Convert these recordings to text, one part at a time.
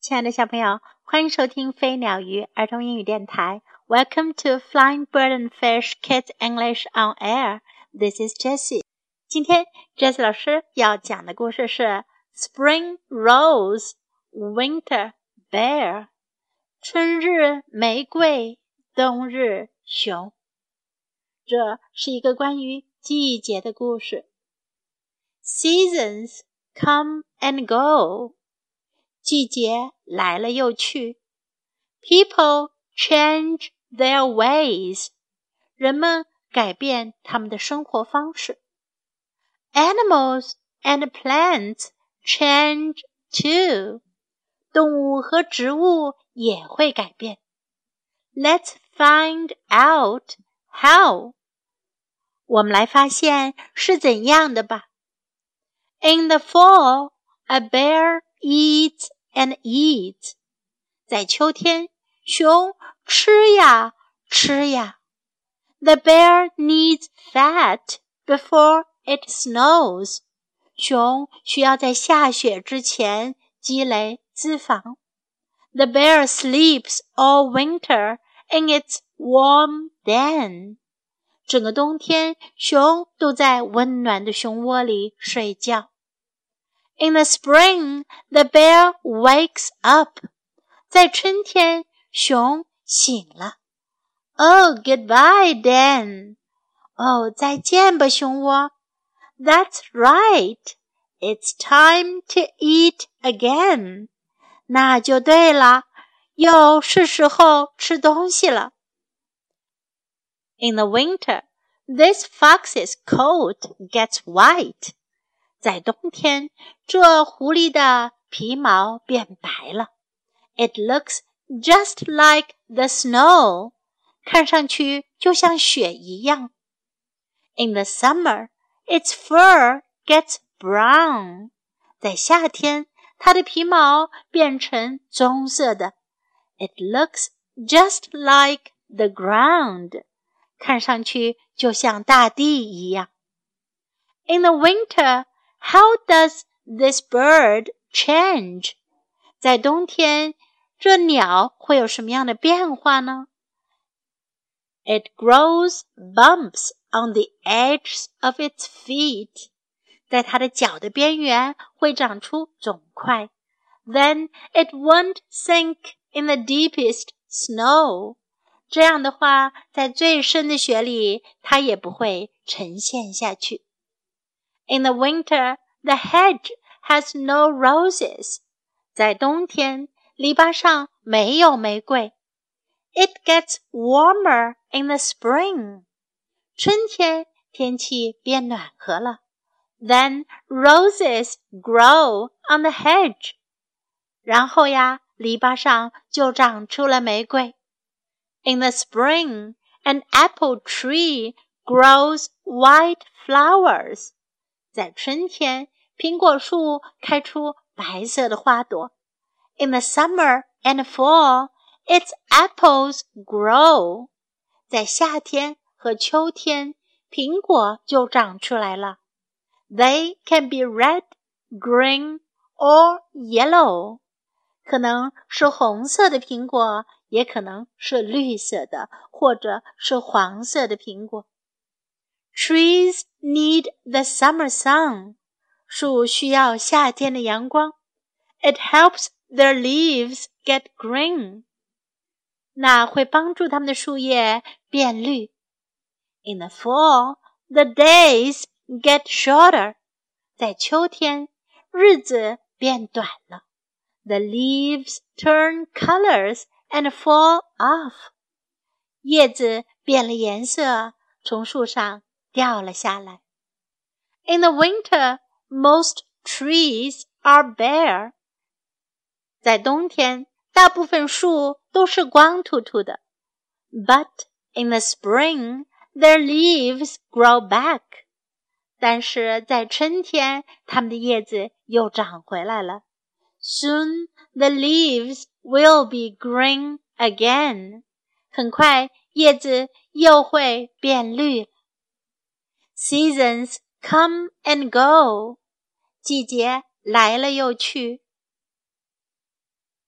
亲爱的小朋友，欢迎收听飞鸟鱼儿童英语电台。Welcome to Flying Bird and Fish Kids English on Air. This is Jessie. 今天 Jessie 老师要讲的故事是 Spring Rose, Winter Bear. 春日玫瑰，冬日熊。这是一个关于季节的故事。Seasons come and go.季节来了又去 People change their ways 人们改变他们的生活方式 Animals and plants change too 动物和植物也会改变 Let's find out how 我们来发现是怎样的吧 In the fall, a bear eats and eats 在秋天熊吃呀吃呀 The bear needs fat before it snows 熊需要在下雪之前积累脂肪 The bear sleeps all winter in its warm den 整个冬天熊都在温暖的熊窝里睡觉In the spring, the bear wakes up. 在春天，熊醒了。Oh, goodbye, Den. 哦，再见吧，熊窝。That's right. It's time to eat again. 那就对了，又是时候吃东西了。In the winter, this fox's coat gets white.在冬天，这狐狸的皮毛变白了。It looks just like the snow. 看上去就像雪一样。In the summer, its fur gets brown. 在夏天，它的皮毛变成棕色的。It looks just like the ground. 看上去就像大地一样。In the winter,How does this bird change? 在冬天，这鸟会有什么样的变化呢 It grows bumps on the edges of its feet. 在它的脚的边缘会长出肿块。Then it won't sink in the deepest snow. 这样的话，在最深的雪里，它也不会沉陷下去。In the winter, the hedge has no roses. 在冬天，篱笆上没有玫瑰。It gets warmer in the spring. 春天，天气变暖和了。Then roses grow on the hedge. 然后呀，篱笆上就长出了玫瑰。In the spring, an apple tree grows white flowers.在春天，苹果树开出白色的花朵。In the summer and fall, its apples grow. 在夏天和秋天，苹果就长出来了。They can be red, green, or yellow. 可能是红色的苹果，也可能是绿色的，或者是黄色的苹果。Trees need the summer sun. 树需要夏天的阳光。It helps their leaves get green. 那会帮助它们的树叶变绿。In the fall, the days get shorter. 在秋天，日子变短了。The leaves turn colors and fall off. 叶子变了颜色，从树上掉了下来。In the winter, most trees are bare. 在冬天，大部分树都是光秃秃的。But in the spring, their leaves grow back. 但是在春天，它们的叶子又长回来了。Soon, the leaves will be green again. 很快，叶子又会变绿了。Seasons come and go. 季节来了又去。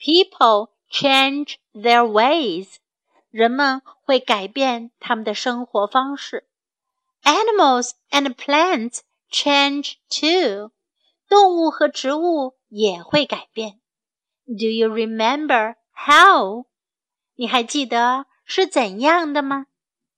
People change their ways. 人们会改变他们的生活方式。Animals and plants change too. 动物和植物也会改变。Do you remember how? 你还记得是怎样的吗？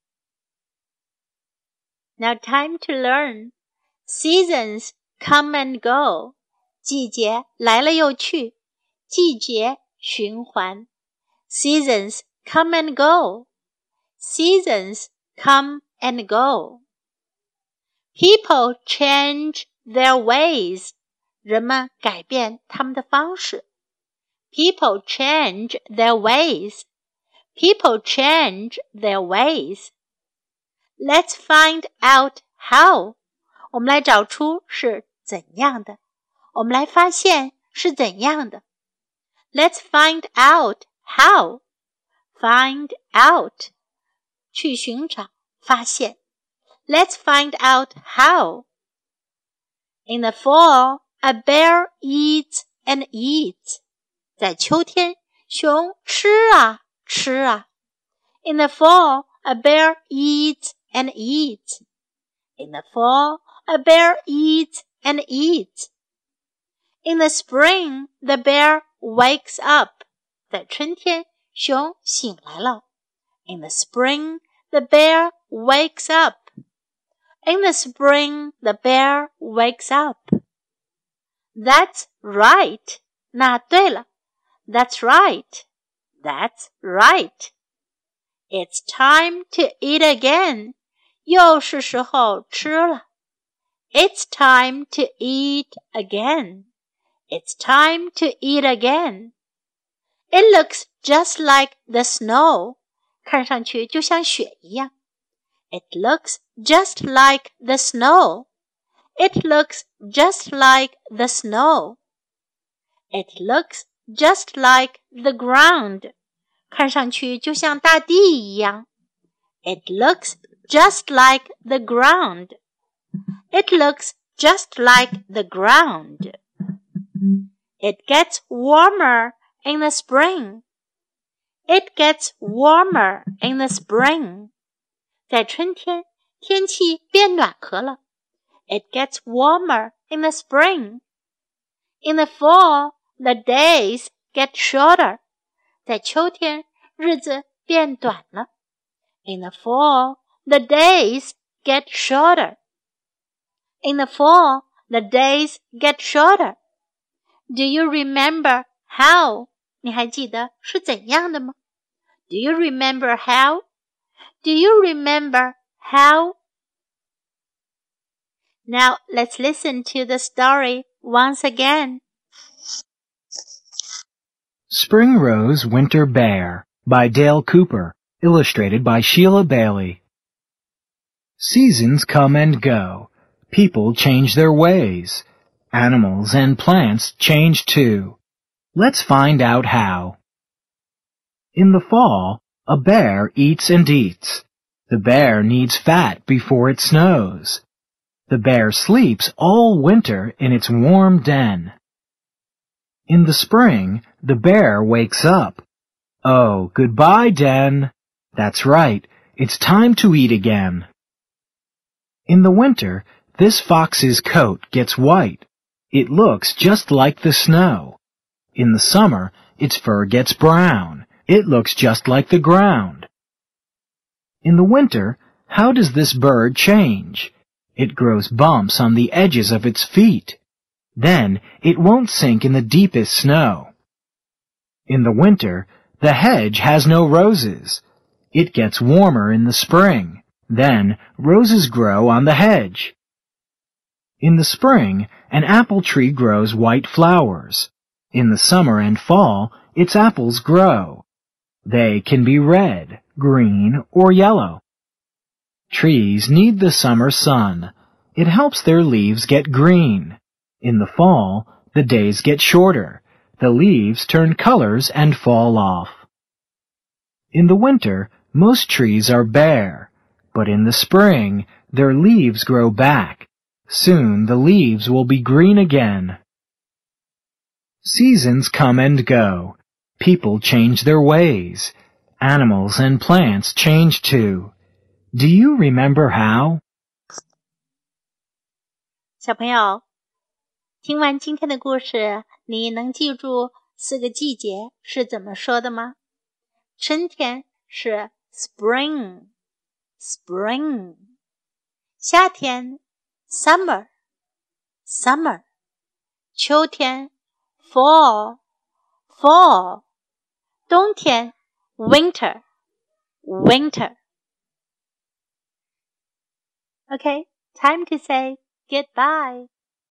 Now time to learn. Seasons come and go. 季节来了又去，季节循环。Seasons come and go. Seasons come and go. People change their ways. 人们改变他们的方式。People change their ways. People change their ways. Let's find out how. 我们来找出是怎样的。我们来发现是怎样的。Let's find out how. Find out. 去寻找，发现。Let's find out how. In the fall, a bear eats and eats. 在秋天，熊吃啊吃啊。In the fall, a bear eats and eats. In the fall, a bear eats and eats. In the spring, the bear wakes up. 在春天，熊醒来了。In the spring, the bear wakes up. In the spring, the bear wakes up. That's right. 那对了。That's right. That's right. It's time to eat again. 又是时候吃了。It's time to eat again. It's time to eat again. It looks just like the snow. 看上去就像雪一样。It looks just like the snow. It looks just like the snow. It looks just like the ground. 看上去就像大地一样。It looks just like the ground. It looks just like the ground. It gets warmer in the spring. It gets warmer in the spring. 在春天，天气变暖和了。It gets warmer in the spring. In the fall, the days get shorter. 在秋天，日子变短了。In the fall, the days get shorter. In the fall, the days get shorter. Do you remember how? 你还记得是怎样的吗？ Do you remember how? Do you remember how? Now let's listen to the story once again. Spring Rose, Winter Bear by Dale Cooper, illustrated by Sheila Bailey. Seasons come and go. People change their ways. Animals and plants change too. Let's find out how. In the fall, a bear eats and eats. The bear needs fat before it snows. The bear sleeps all winter in its warm den. In the spring, the bear wakes up. Oh, goodbye, den. That's right, it's time to eat again. In the winter, this fox's coat gets white. It looks just like the snow. In the summer, its fur gets brown. It looks just like the ground. In the winter, how does this bird change? It grows bumps on the edges of its feet. Then it won't sink in the deepest snow. In the winter, the hedge has no roses. It gets warmer in the spring. Then roses grow on the hedge. In the spring, an apple tree grows white flowers. In the summer and fall, its apples grow. They can be red, green, or yellow. Trees need the summer sun. It helps their leaves get green. In the fall, the days get shorter. The leaves turn colors and fall off. In the winter, most trees are bare. But in the spring, their leaves grow back. Soon the leaves will be green again. Seasons come and go. people change their ways. Animals and plants change too. Do you remember how? 小朋友，听完今天的故事，你能记住4个季节是怎么说的吗？春天是 spring， 夏天 summer， 秋天 fall， 冬天 winter。 Okay, time to say goodbye.